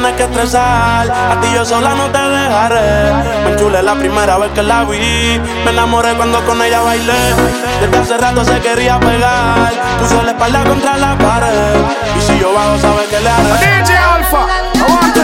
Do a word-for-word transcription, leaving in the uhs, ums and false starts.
tienes que estresar. A ti yo sola no te dejaré. Me enchulé la primera vez que la vi. Me enamoré cuando con ella bailé. Desde hace rato se quería pegar. Puso la espalda contra la pared. Y si yo bajo, sabes que le haré. D J Alpha, I want to